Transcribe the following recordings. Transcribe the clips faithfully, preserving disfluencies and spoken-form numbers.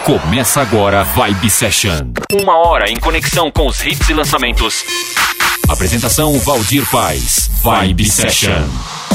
Começa agora Vibe Session. Uma hora em conexão com os hits e lançamentos. Apresentação Valdir Paz. Vibe Session.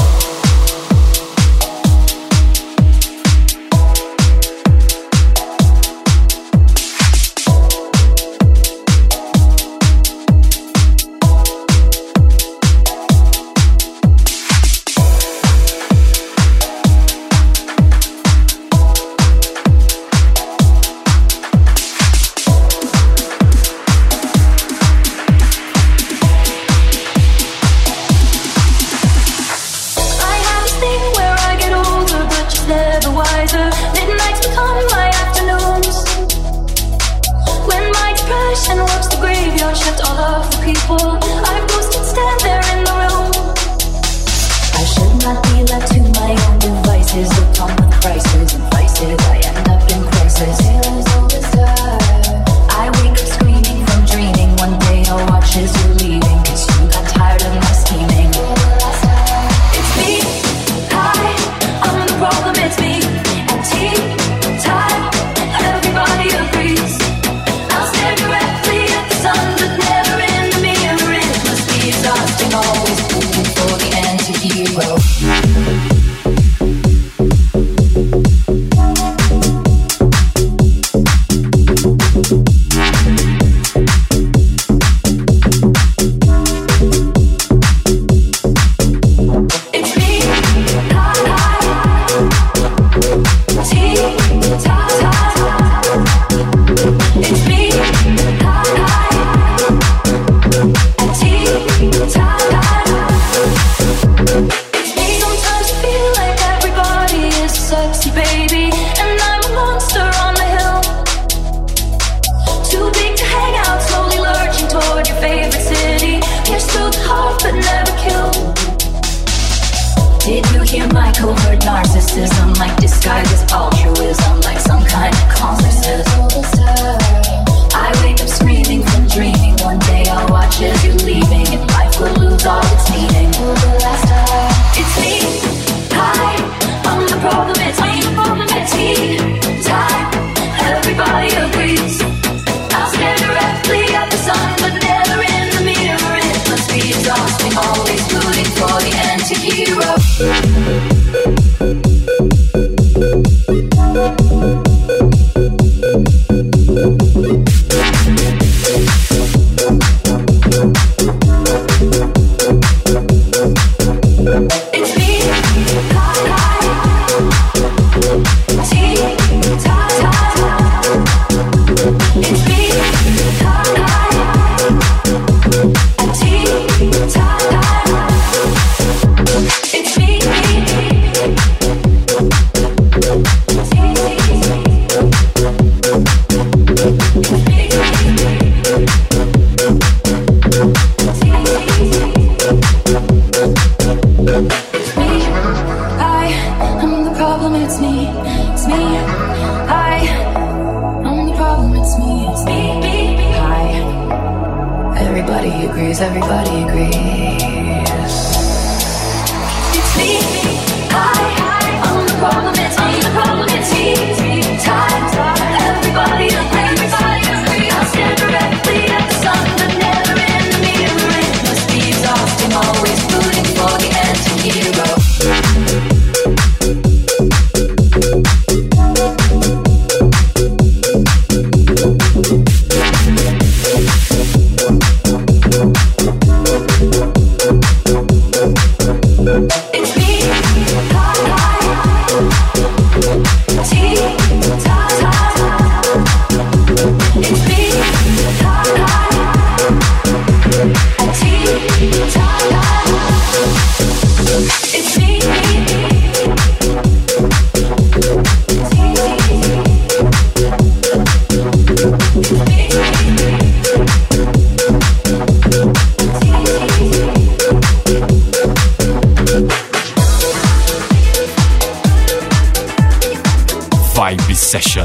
Vibe Session.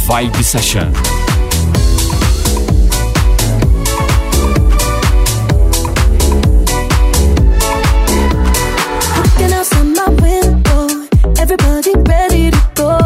Vibe Session. Everybody ready to go.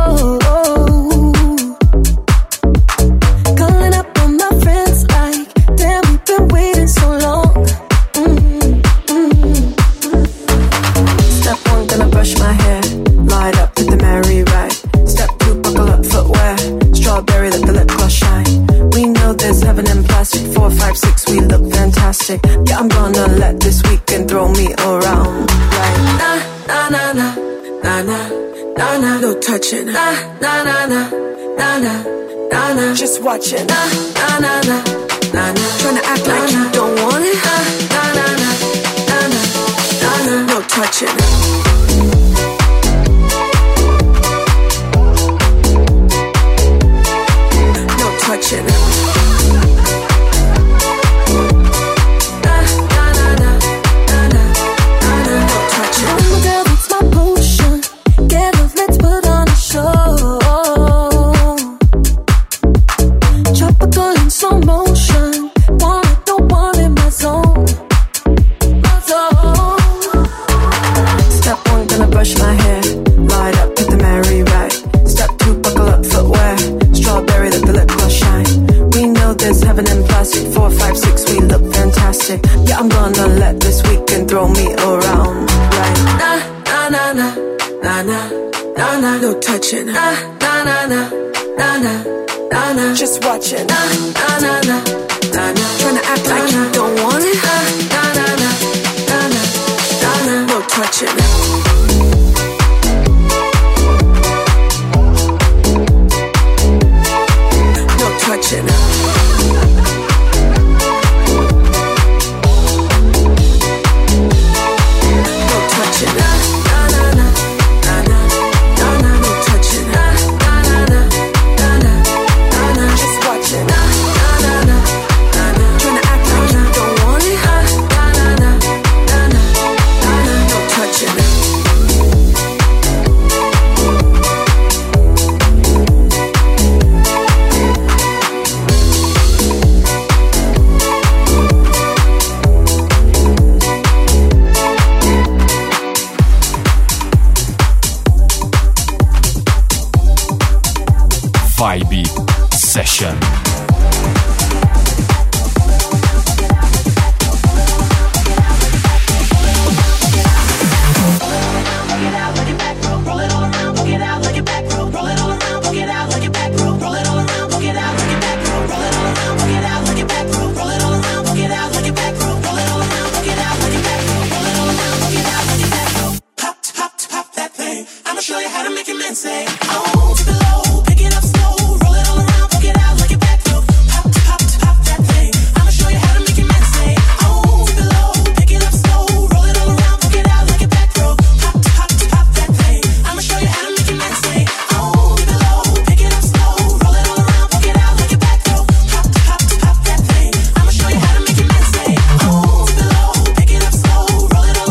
Calling up all my friends like, damn, we've been waiting so long. Mm-hmm. Step one, gonna brush my hair. Light up to the merry ride. Step two, buckle up footwear. Strawberry, let the lip gloss shine. We know there's heaven in plastic. Four, five, six, we look fantastic. Yeah, I'm gonna let this weekend throw me around. Like, na, na, na, na. Na na, na na, no touching. Na na na na, na na, na na, just watching. Na na na na, na na, tryna act like you don't want it. Na na na na, na na, na na, no touching. No touching. Yeah, I'm gonna let this weekend throw me around. Right? Na na na na, na na, na na, no touching. Na na na na, na na, na na, just watching. Na na na na, na na, tryna act like you don't want it. Na na na na, na na, na na, no touching. No touching. Vibe Session.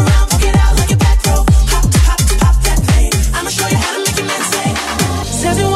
Says you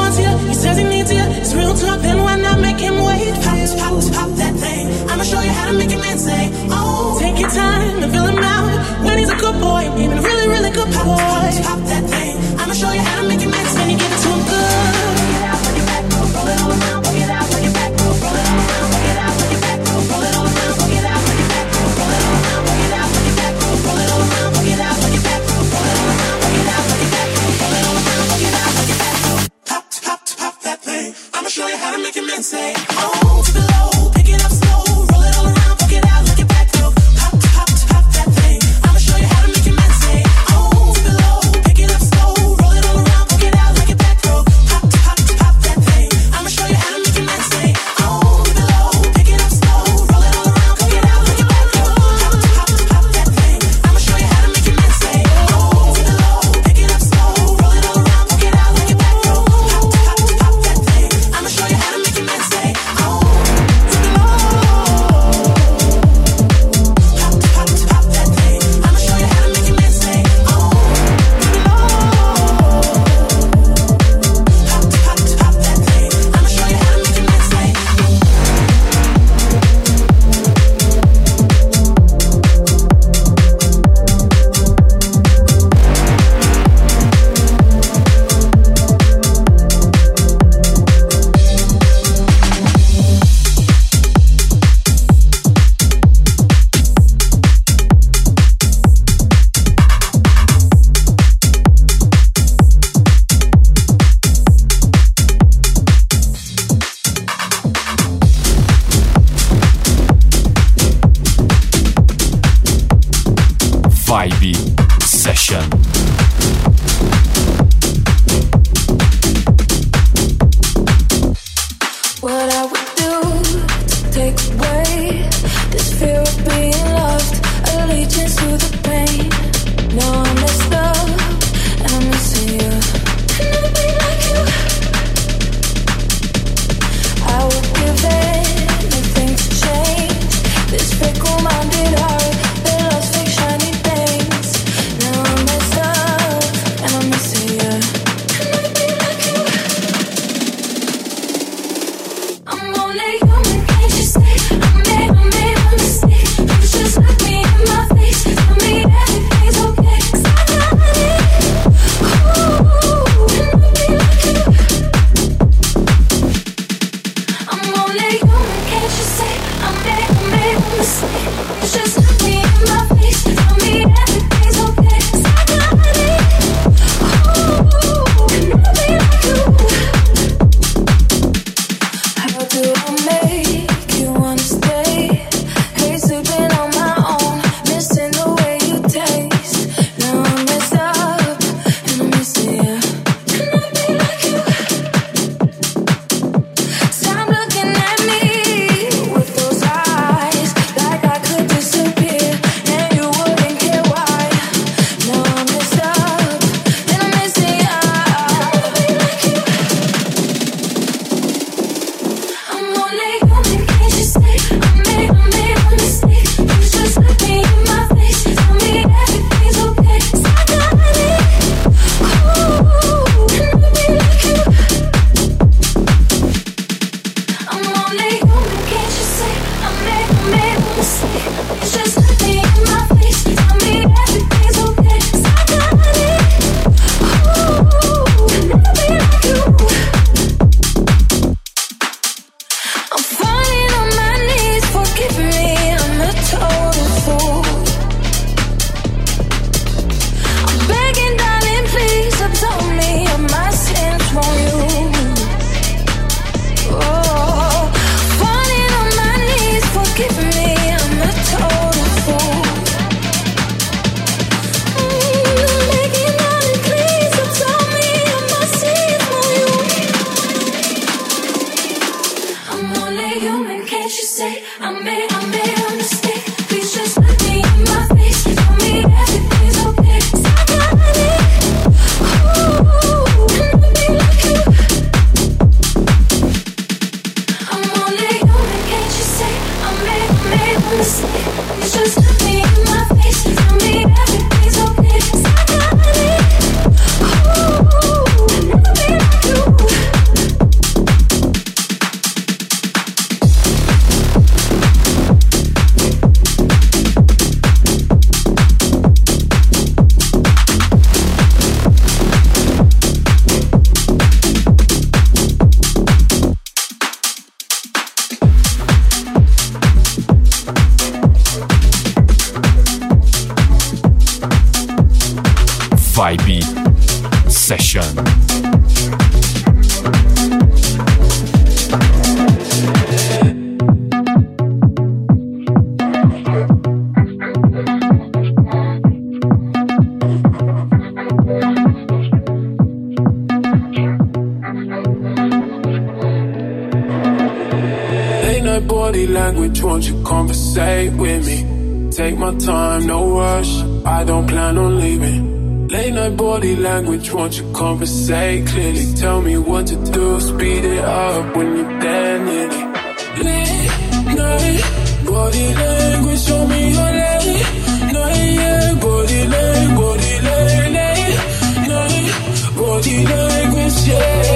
body language, won't you conversate with me? Take my time, no rush, I don't plan on leaving. Late night body language, won't you conversate clearly? Tell me what to do, speed it up when you're there nearly. Late night body language, show me your late night, yeah. Body language, body language, night body language, yeah,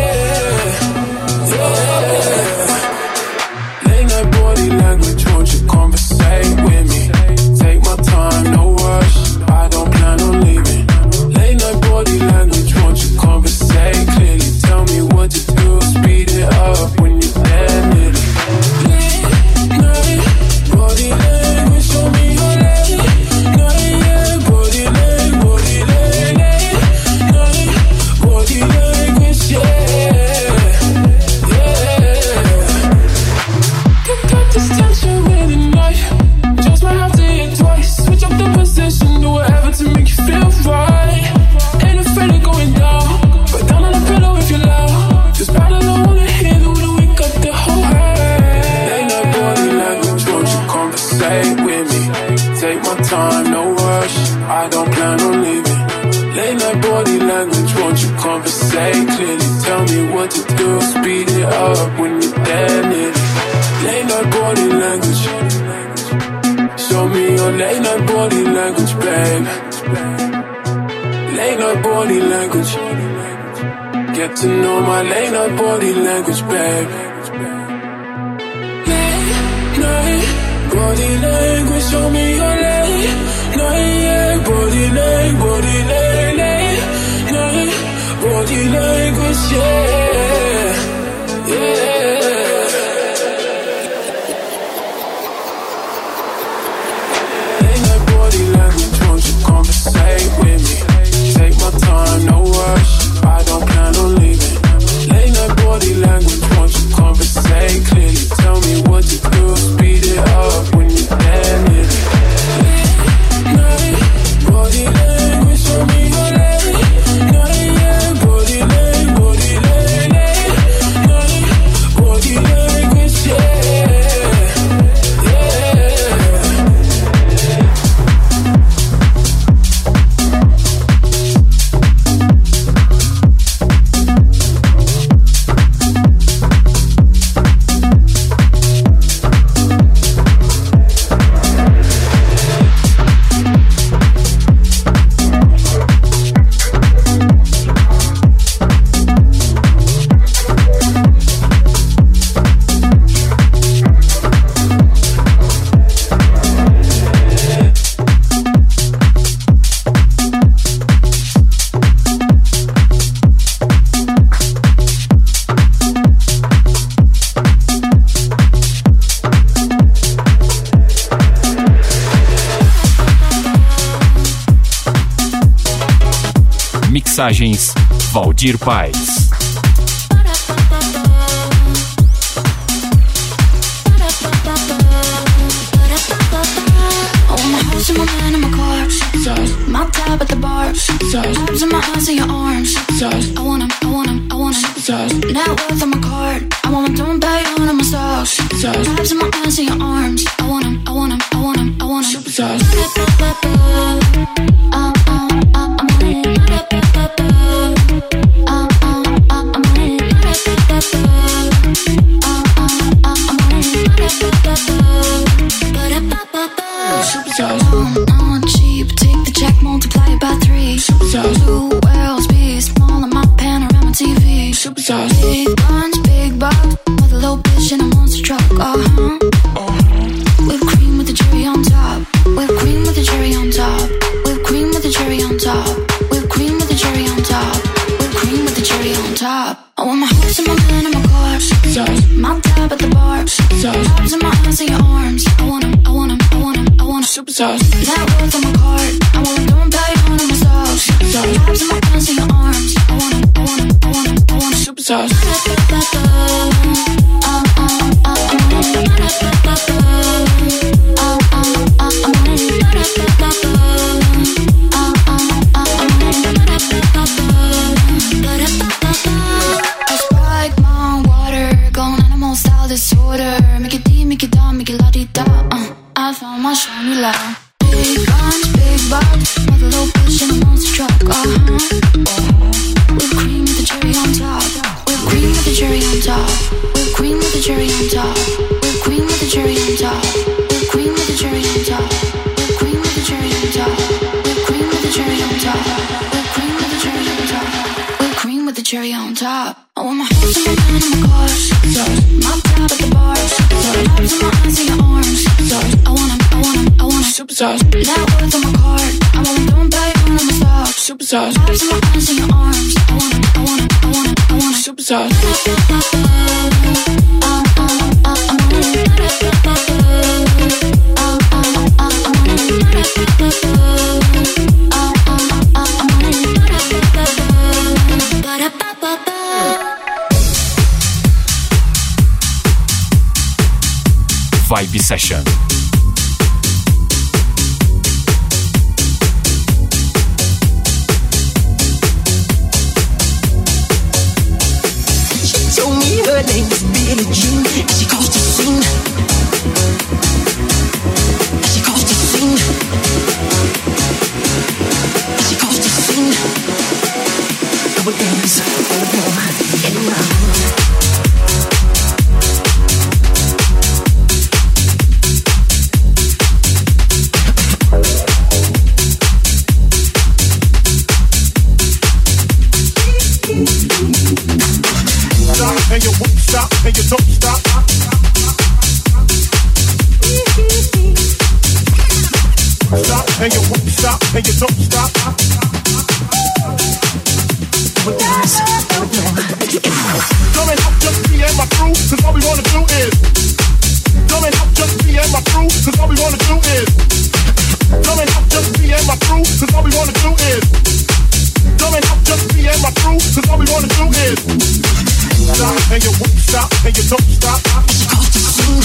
yeah. Late night body language, won't you conversate with me? Take my time, no rush, I don't plan on leaving. Late night body language, won't you conversate clearly? Tell me what to do, speed it up when you're there nearly. Late night body language, show me your late night, yeah. Body language, body language, night body language, yeah, yeah. Got this tension with the knife, just might have to hit twice. Switch up the position, do whatever to make you feel right. Ain't afraid of going down, but down on the pillow if you're loud. Just bad I don't wanna hear the way we got the whole head. Late night body language, won't you conversate with me? Take my time, no rush, I don't plan on leaving. Late night body language, won't you conversate clearly? Tell me what to do, speed it up when you're there nearly. Late night body language, show me your late night body language, babe. Late night body language, get to know my late night body language, babe. Late night body language, show me your late night, yeah. Body language, body language, night body language, yeah, yeah. Conversate with me. Take my time, no rush, I don't plan on leaving. Late night body language, won't you conversate clearly? Tell me what to do, speed it up when you're there nearly. Late night body language, show me your late night, yeah. Body language, body language, night body language, yeah, yeah. Mixagens Valdir Paz. My tab at the bar, tabs in my eyes and your arms. I want 'em, I want 'em, I want 'em. Net worth on my card, I want my don't pay on my stocks. Tabs in my eyes and your arms. I want 'em, I want 'em, I want 'em, I want 'em. Uh, uh, uh, I'm on it. Uh, uh, uh, I'm on it. Uh, uh, uh, I'm on it. On cheap, take the check, multiply it by three. Two worlds, be small on my panorama T V. Big guns, big bucks, with a little bitch in a monster truck. Uh-huh. Whipped cream with the cherry on top. Whipped cream with the cherry on top. Whipped cream with the cherry on top. Whipped cream with the cherry on top. Whipped cream with the cherry on top. I want my horse and my man and my car. My tab at the bar. Tabs in my eyes and your arms. I want 'em, I want 'em, I want 'em, I want 'em. Net worth on my card. I want 'em, don't pay on my stocks. Tabs in my eyes and your arms. I want 'em, I want 'em, I want 'em, I want 'em. Superstars. Uh, uh, uh, I'm on it. Uh, uh, uh, I'm on it. Uh, uh, uh, I'm on it. I spike my water, going animal style disorder. Make it deep, make it dumb. I'ma show you love. Big guns, big bucks, with a little bitch in a monster truck. Uh huh. Uh-huh. Whipped cream with the cherry on top. Whipped cream with the cherry on top. Whipped cream with the cherry on top. Whipped cream with the cherry on top. Whipped cream with the cherry on top. Whipped cream with the cherry on top. Whipped cream with the cherry on top. Whipped cream with the cherry on top. Whipped cream with the cherry on top. I want my house and my man and my cars. My tab at the bars. Abs in my eyes and your arms. I want 'em, I want 'em, I want 'em. Superstars. Net worth on my card. I want 'em, don't pay when I'm a star. Superstars. Abs in my eyes and your arms. I want 'em, I want 'em, I want 'em, I want 'em. Superstars. Vibe Session. She told me her name was Billie Jean, and she caused a scene. And she caused a scene. And she caused a scene. Double dance, all over, and around. And you won't stop, and you don't stop. Stop, and you won't stop, and you don't stop. Come and help just me and my crew, cause all we wanna do is. Come and help just me and my crew, cause all we wanna do is. Come and help just me and my crew, cause all we wanna do is. Come and help just me and my crew, cause all we wanna do is. Stop, and you won't stop, and you don't stop. She caused a scene.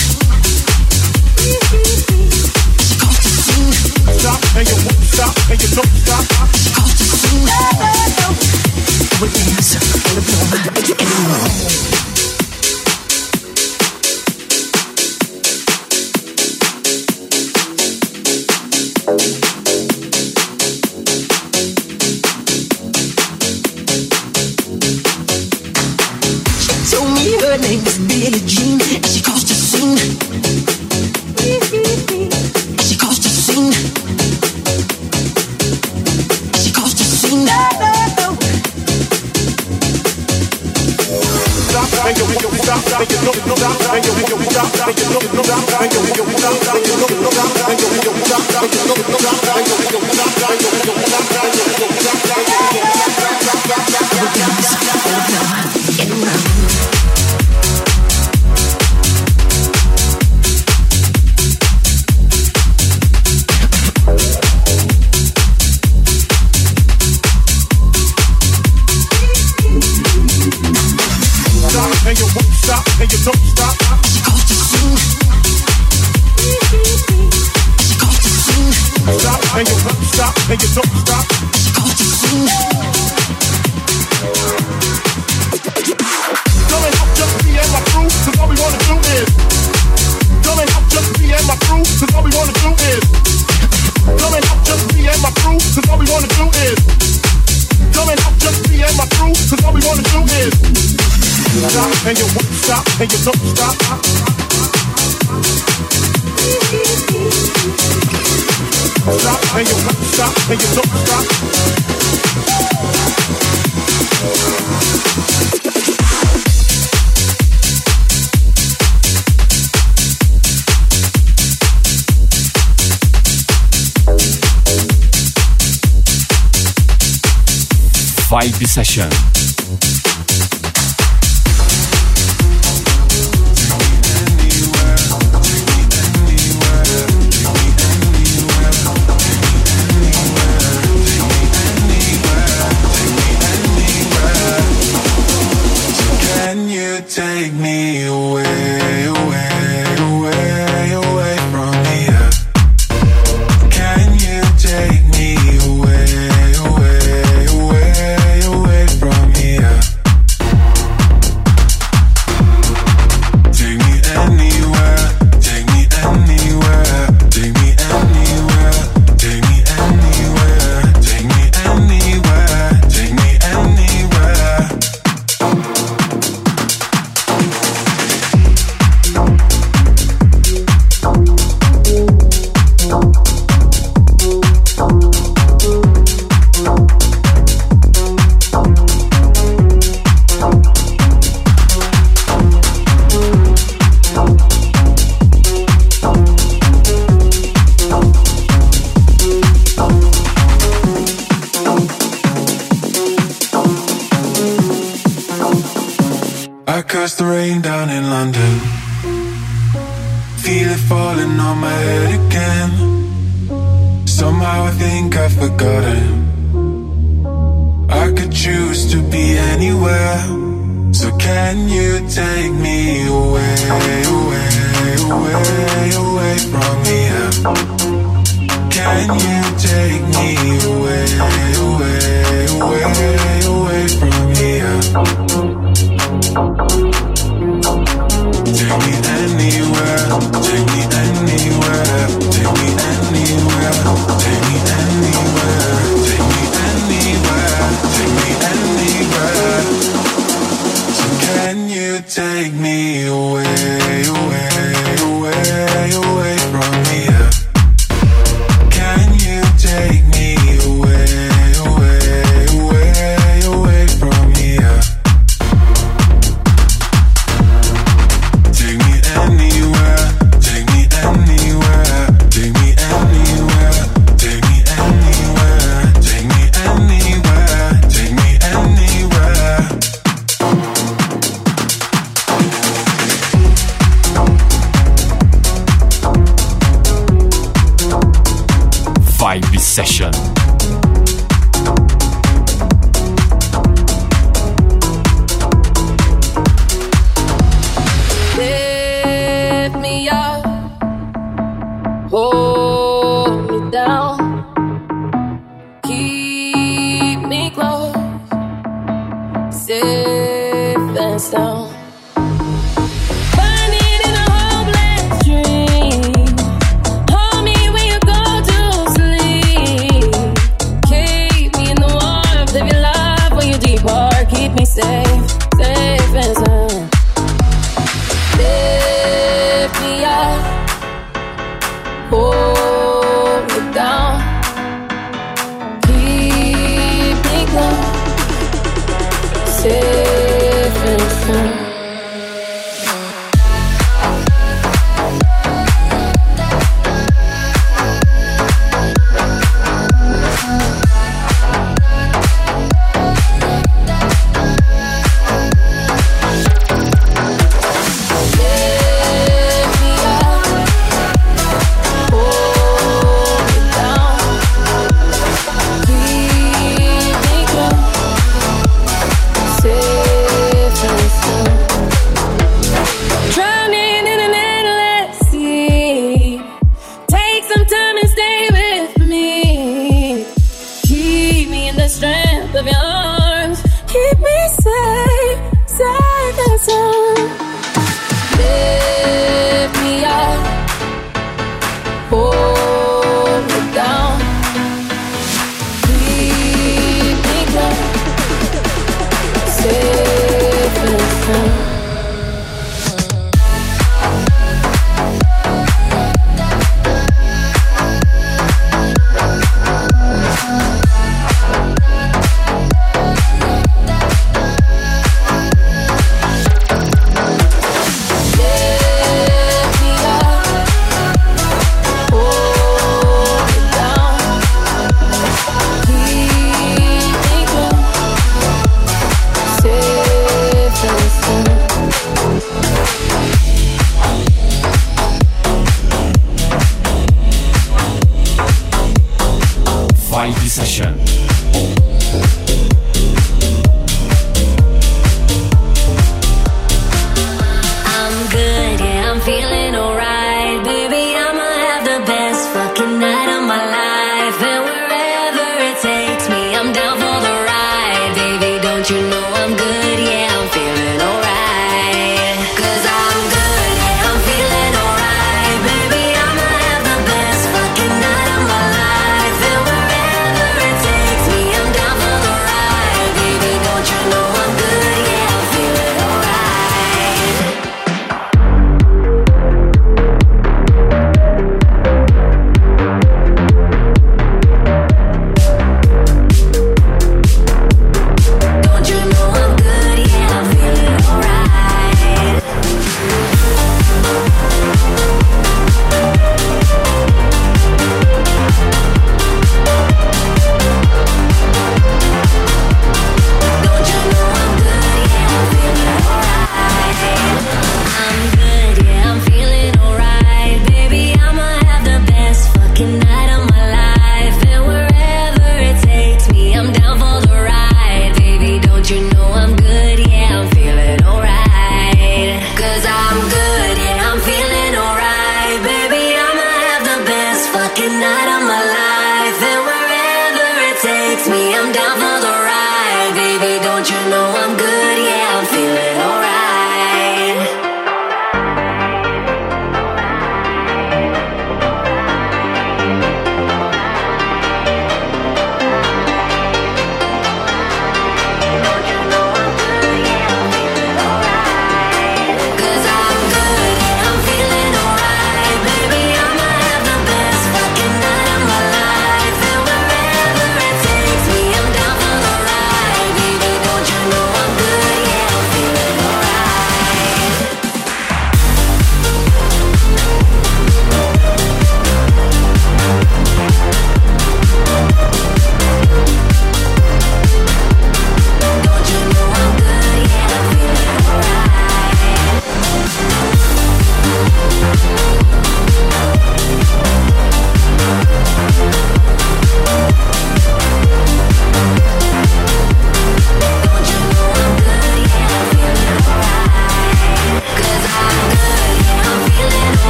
She caused a scene. Stop, and you won't stop, and you don't stop. She caused a scene. Double dance, all over, and around. Her name was Billie Jean, and she caused a scene. And she caused a scene. And she caused a scene. Stop, and you won't stop, and you don't stop, and you won't stop, and you don't stop, and you won't stop, and you don't stop, and you won't stop, and you don't stop, and you won't stop, and you won't stop, and you won't stop, and you won't stop. Double dance, all over, and around. And you won't stop, and you don't stop. She caused a scene. She caused a scene. Stop, and you won't stop, and you don't stop. She caused a scene. Come and help just me and my crew, cause all we wanna do is. Come and help just me and my crew, cause all we wanna do is. Come and help just me and my crew, cause all we wanna do is. Come and help just me and my crew, cause all we wanna do is. Stop, and you won't stop, and you don't stop. Stop, and you won't stop, and you don't stop. Vibe Session. Take me away, away, away, away from here. Can you take me away, away, away, away from here? Take me anywhere, take me anywhere, take me I curse the rain down in London. Feel it falling on my head again. Somehow I think I've forgotten. I could choose to be anywhere. So can you take me away, away, away, away from here? Can you take me away, away, away, away from here? Take me anywhere, take me anywhere, take me anywhere, take me anywhere, take me anywhere, take me anywhere. So can you take me away, away, away, away from here? Can you take me away, away, away, away from here? Take me anywhere, take me anywhere, take me anywhere, take me anywhere, take me anywhere, take me anywhere. Vibe Session. Lift me up, hold me down, keep me close, safe and sound. Burning in a hopeless dream, hold me when you go to sleep. Keep me in the warmth of your love when you depart. Keep me safe, safe and sound. Lift me up, hold me down, keep me close, safe and sound.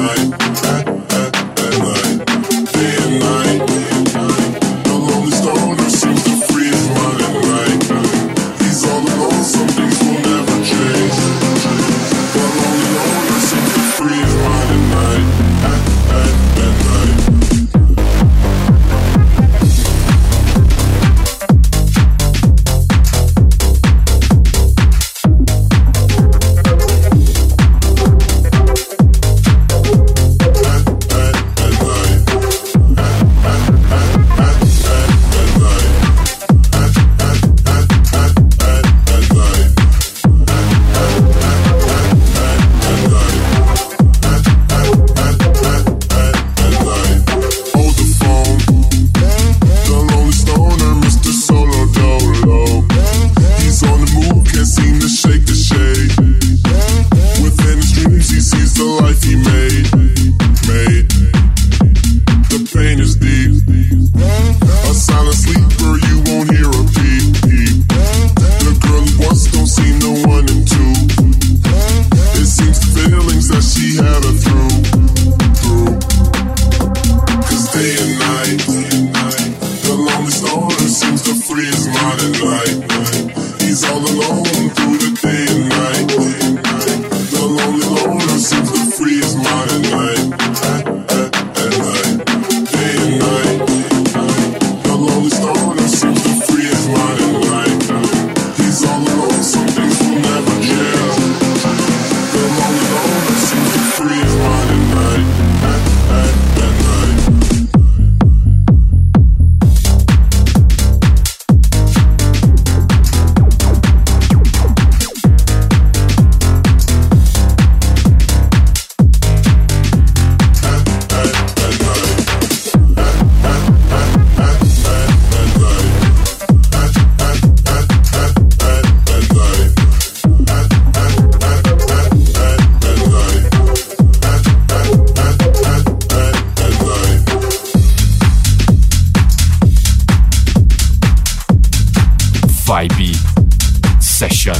Vibe Session.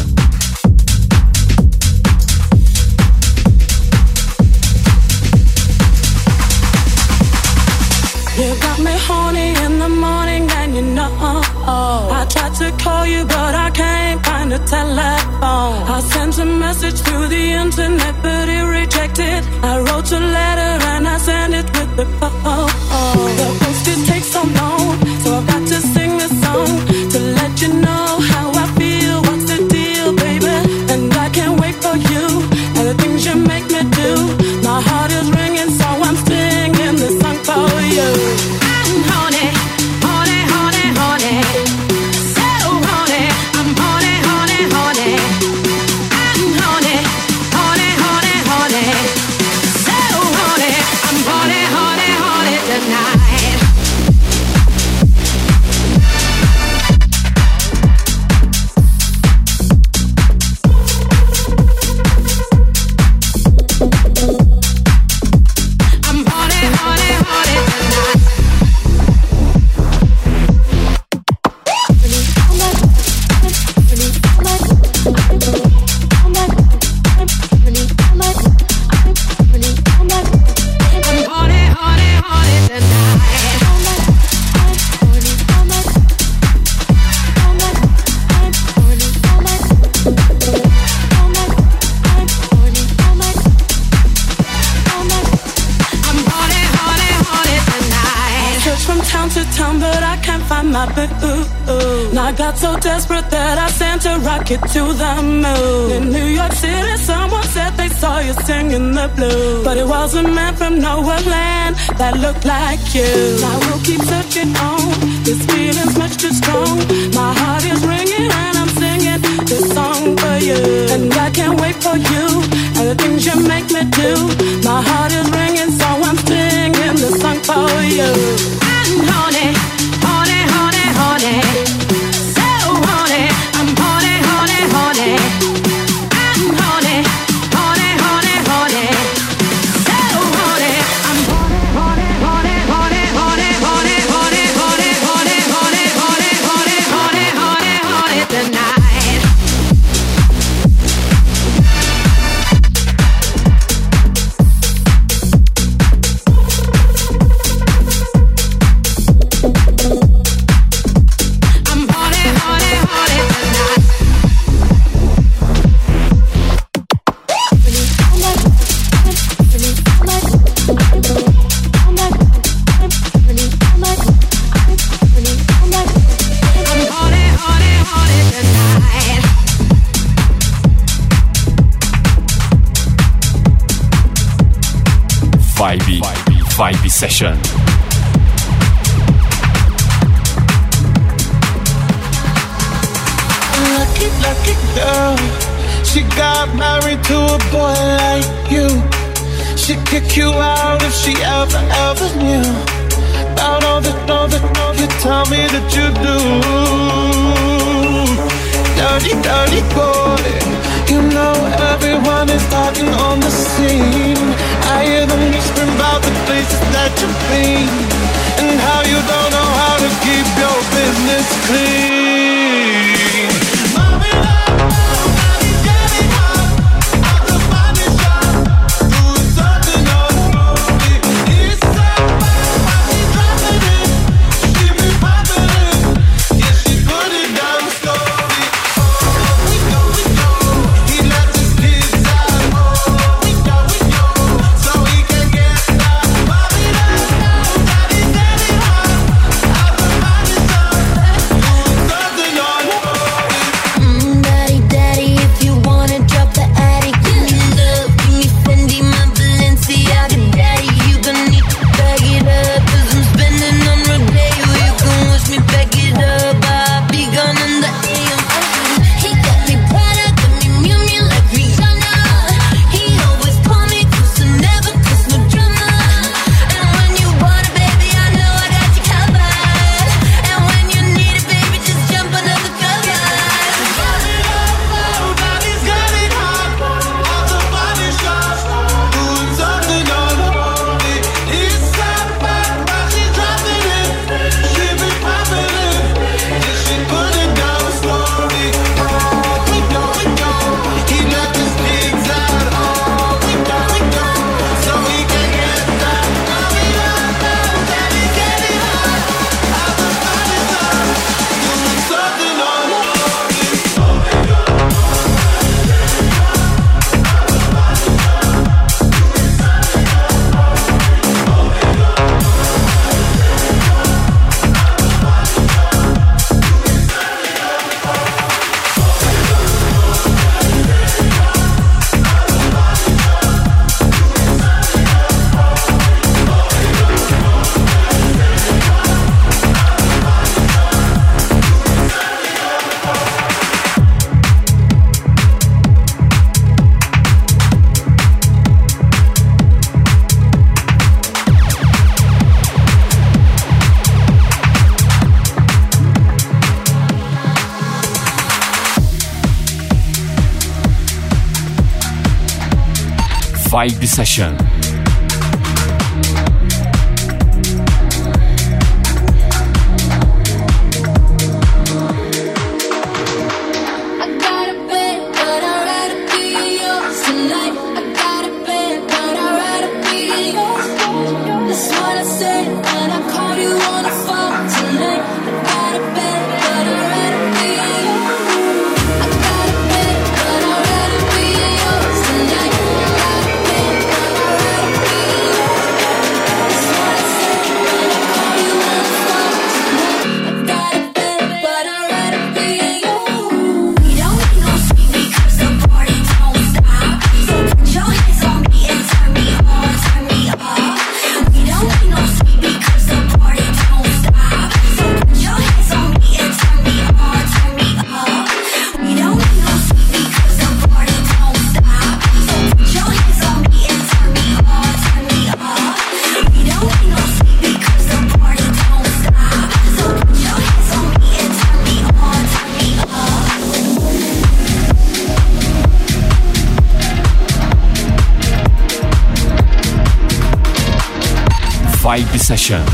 You got me horny in the morning and you know I tried to call you but I can't find a telephone. I sent a message through the internet but it rejected. I wrote a letter and I sent it with the phone. The post it takes so long, so I've got to sing this song to let you know how I feel. What's the deal, baby? And I can't wait for you and the things you make me do. My heart is ringing, so I'm singing this song for you. I'm horny, horny, horny, horny. So horny, I'm horny, horny, horny. I'm horny, horny, horny, horny. So horny, I'm horny, horny, horny tonight. I got so desperate that I sent a rocket to the moon. In New York City, someone said they saw you singing the blues, but it was a man from nowhere land that looked like you. I will keep searching on. This feeling's much too strong. My heart is ringing and I'm singing this song for you. And I can't wait for you and the things you make me do. My heart is ringing, so I'm singing this song for you. I'm horny, horny, horny, horny. Vibe, Vibe Session. Lucky, lucky girl. She got married to a boy like you. She'd kick you out if she ever, ever knew about all the, all the, all you tell me that you do. Dirty, dirty boy. You know everyone is talking on the scene. I hear them whispering about the places that you've been and how you don't know how to keep your business clean. Mommy, love, nobody's getting hot. At the body shop, doing something unholy. It's so bad, why she dropping it? She be popping it. Yeah, she put it down slowly. Oh, we go, we go. He lets his kids out. Oh, we go, we go. So he can get that. Mommy, love, nobody's getting hot. At the body shop, doing something unholy. Mm, daddy, daddy, if you wanna drop the attic, give me love, give me Fendi, my Balenciaga, daddy, you gon' need to bag it up, 'cause I'm spending on Rodeo, you can wish me back it up, I'll be gone in the A M. He got me Prada, got me Miu Miu like Rihanna, he always call me cause I never cause no drama, and when you want it, baby, I know I got you covered, and when you need it, baby, just jump under the cover. Nobody's getting hot. At the body shop, doing something unholy. It's so bad, why she dropping it? She be popping it. Yeah, she put it down slowly. Oh, we go, we go. He let his kids out. Oh, we go, we go. So he can get that. Mommy, love, daddy, getting hot. At the body shop, doing something unholy. Vibe Session. I got a bed, but I'd rather be yours tonight. I got a bed, but I'd rather be yours. That's what I said when I called you on the phone tonight. I got a bed, but I'd rather be yours. I got a bed, but I'd rather be yours tonight. I got a bed, but I'd rather be yours. That's what I said when I called you on the phone tonight. I got a bed, but I'd rather be yours. We don't need no sleep because the party don't stop. So put your hands on me and turn me on, turn me up. We don't need no sleep because the party don't stop. So put your hands on me and turn me on, turn me up. We don't need no sleep because the party don't stop. So put your hands on me and turn me on, turn me up. We don't need no sleep because the party don't stop. So put your hands on me and turn me on, turn me up. Vibe Session.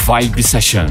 Vibe Session.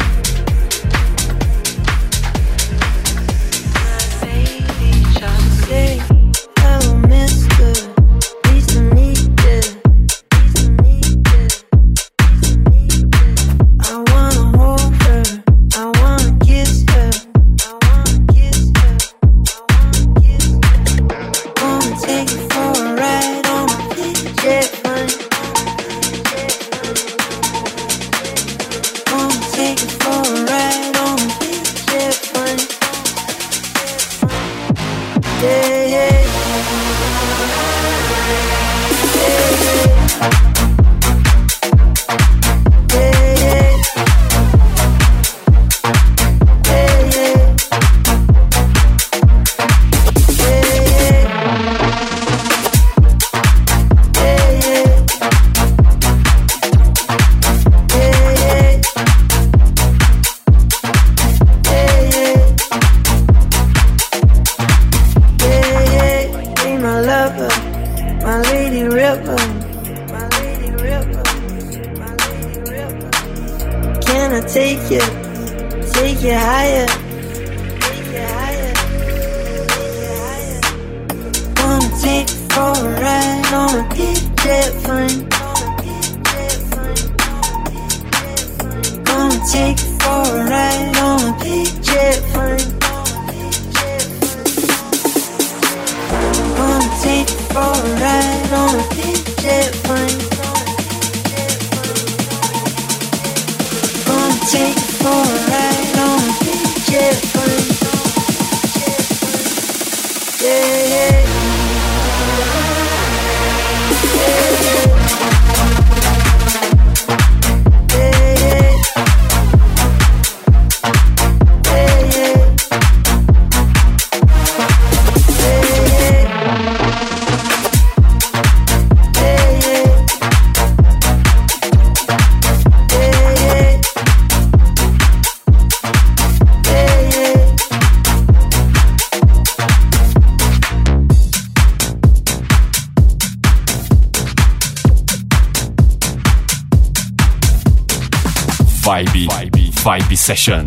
Vibe, Vibe, Vibe Session.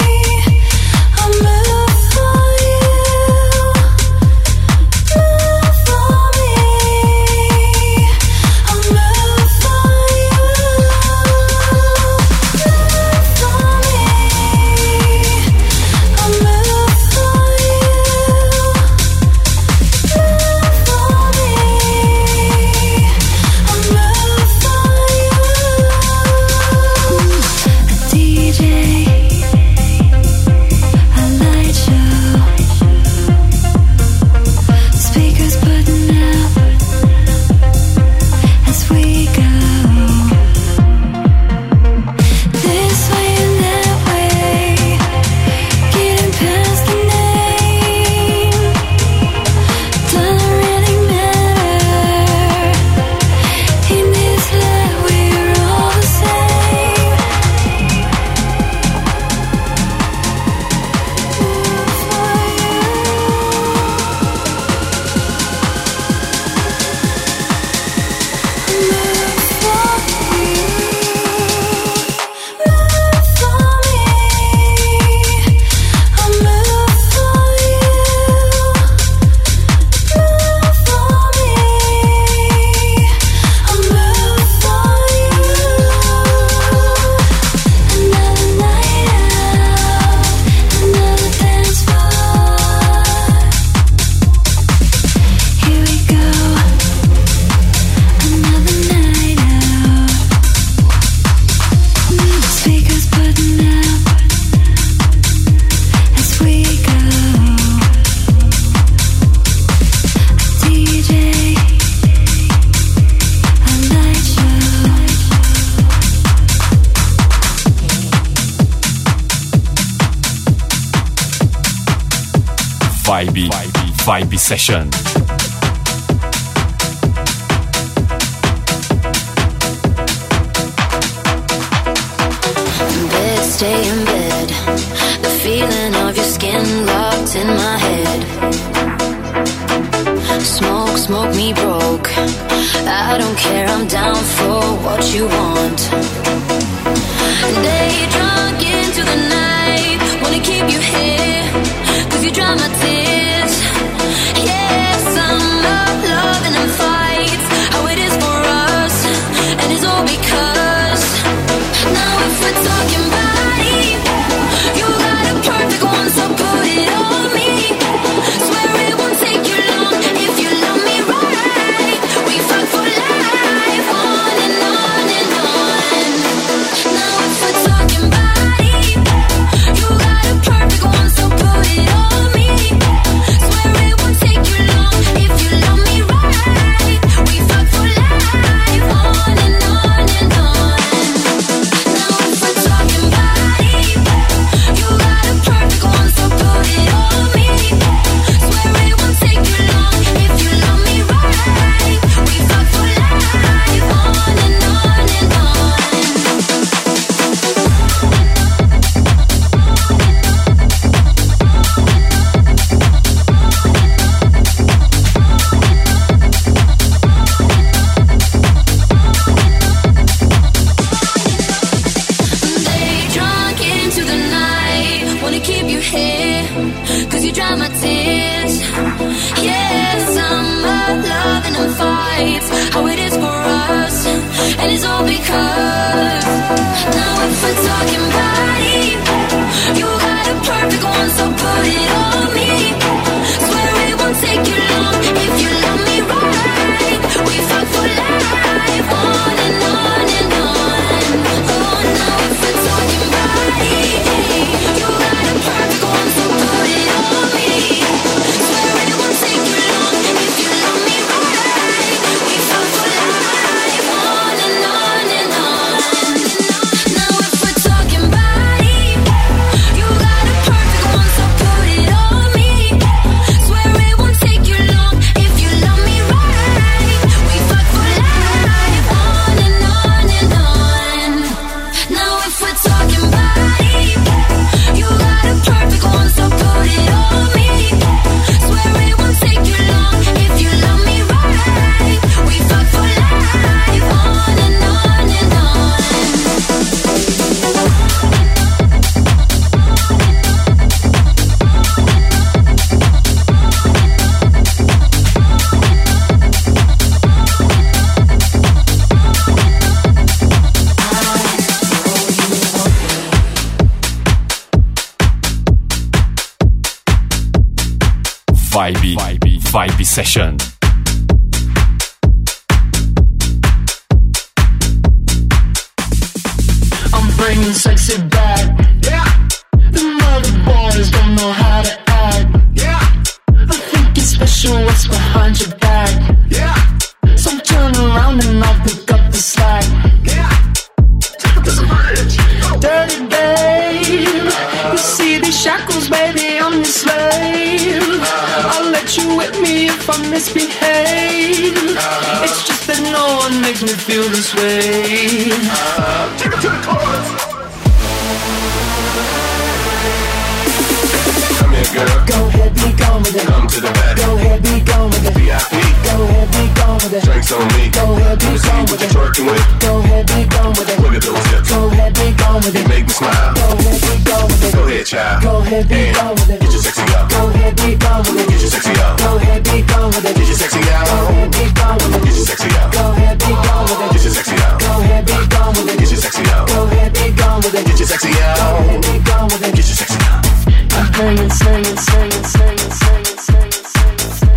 Move Vibe, Vibe Session. Stay in bed, the feeling of your skin locked in my head. Smoke, smoke me broke, I don't care, I'm down for what you want. Day drunk into the night, wanna keep you here, cause you dry my tears. Yeah, summer, loving and fights, how it is for us, and it's all because now if we're talking about you got a perfect one, so put it on me. Swear it won't take you long if you love me right. We fuck for life, on and on and on. Now if we're talking body, you got a perfect one, so put it on me. Swear it won't take you long if you love me right. We fuck for life, on and on and on. Now if we're talking body, you got a perfect one, so put it on me. Swear it won't take you long if you love me right. We fuck for life, on and on and on. Day drunk into the night, wanna keep you here, cause you dry my tears. Yeah, summer, loving and fights, how it is for us, and it's all because now if we're talking body, you got a perfect one, so put it on me. Swear it won't take you long if you love me right. We fuck for life, on and on and on. Oh, now if we're talking body, you got a perfect one, so put it on me. Swear it won't take you long if you love me right. We fuck for life, on and on and on. Now if we're talking body, you got a perfect one, so put it on me. Swear it won't take you long if you love me right. We fuck for life, on and on and on. Now if we're talking body, you got a perfect one, so put it on me. Swear it won't take you long if you love me right. We fuck for life, on and on and on. Vibe, Vibe, Vibe Session. I'm bringing sexy back. Yeah. The mother boys don't know how to act. Yeah. I think it's special what's behind your back. Yeah. So turn around and I'll pick up the slack. Yeah. Dirty babe, you see these shackles, baby, I'm your slave. I'll let you whip me if I misbehave. It's just that no one makes me feel this way. Take it to the chorus. Come here, girl. Go ahead, be gone with it. Come to the back. Go ahead, be gone with it. V I P. Go ahead, be gone with it. Drinks on me. Go ahead, be Let me see gone what with you're it. twerking with. Go ahead, be gone with it. Look at those hips. Go ahead, be gone with You it. make me smile. Go ahead, be gone with it. Go ahead, child. Go ahead, be And gone with it. get your sexy up. Go ahead, be gone with it. Get your sexy up. Go ahead, be gone with it. Get your sexy out. Go ahead, be gone with it. Get your sexy out. Go ahead, be gone with it. Get your sexy out. Go ahead, be gone with it. Get your sexy out. Go ahead, be gone with it. Get your sexy Go out. ahead, be gone with it. Get your sexy out. I'm bringing, singing, singing, singing, singing, singing, singing, singing.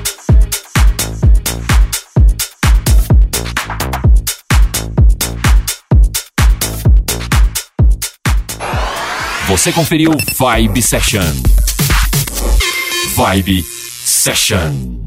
Você conferiu Vibe Session. Vibe Session.